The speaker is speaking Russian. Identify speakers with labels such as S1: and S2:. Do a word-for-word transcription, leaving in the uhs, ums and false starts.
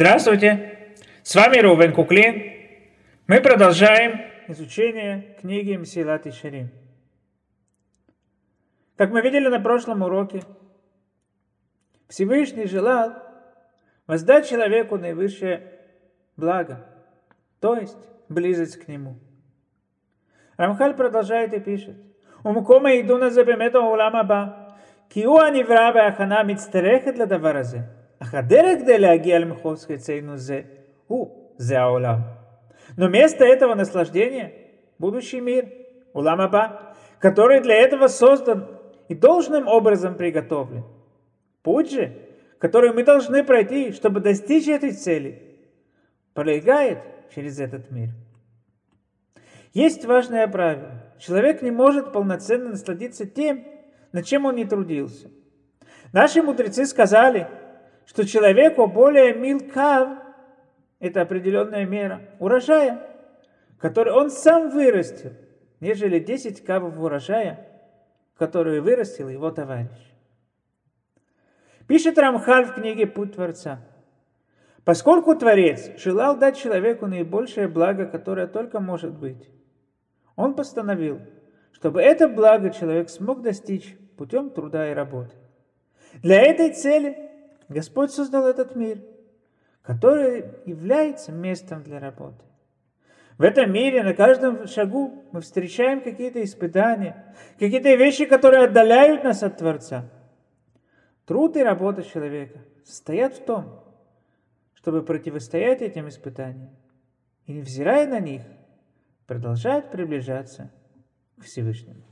S1: Здравствуйте! С вами Рувен Куклин. Мы продолжаем изучение книги Месилат Йешарим. Как мы видели на прошлом уроке, Всевышний желал воздать человеку наивысшее благо, то есть близость к нему. Рамхаль продолжает и пишет: ומקום העידון הזה באמת העולם הבא, כי הוא הנברא וההכנה מצטרכת לדבר הזה. אך הדרך כדי להגיע למחוז חצינו זה, הוא, זה העולם. Но место этого наслаждения – будущий мир, улам аба, который для этого создан и должным образом приготовлен. Путь же, который мы должны пройти, чтобы достичь этой цели, пролегает через этот мир. Есть важное правило. Человек не может полноценно насладиться тем, над чем он не трудился. Наши мудрецы сказали, что человеку более мил кав, это определенная мера урожая, который он сам вырастил, нежели десять кавов урожая, которые вырастил его товарищ. Пишет Рамхаль в книге «Путь Творца». Поскольку Творец желал дать человеку наибольшее благо, которое только может быть, он постановил, чтобы это благо человек смог достичь путем труда и работы. Для этой цели Господь создал этот мир, который является местом для работы. В этом мире на каждом шагу мы встречаем какие-то испытания, какие-то вещи, которые отдаляют нас от Творца. Труд и работа человека состоят в том, чтобы противостоять этим испытаниям и, невзирая на них, продолжать приближаться к Всевышнему.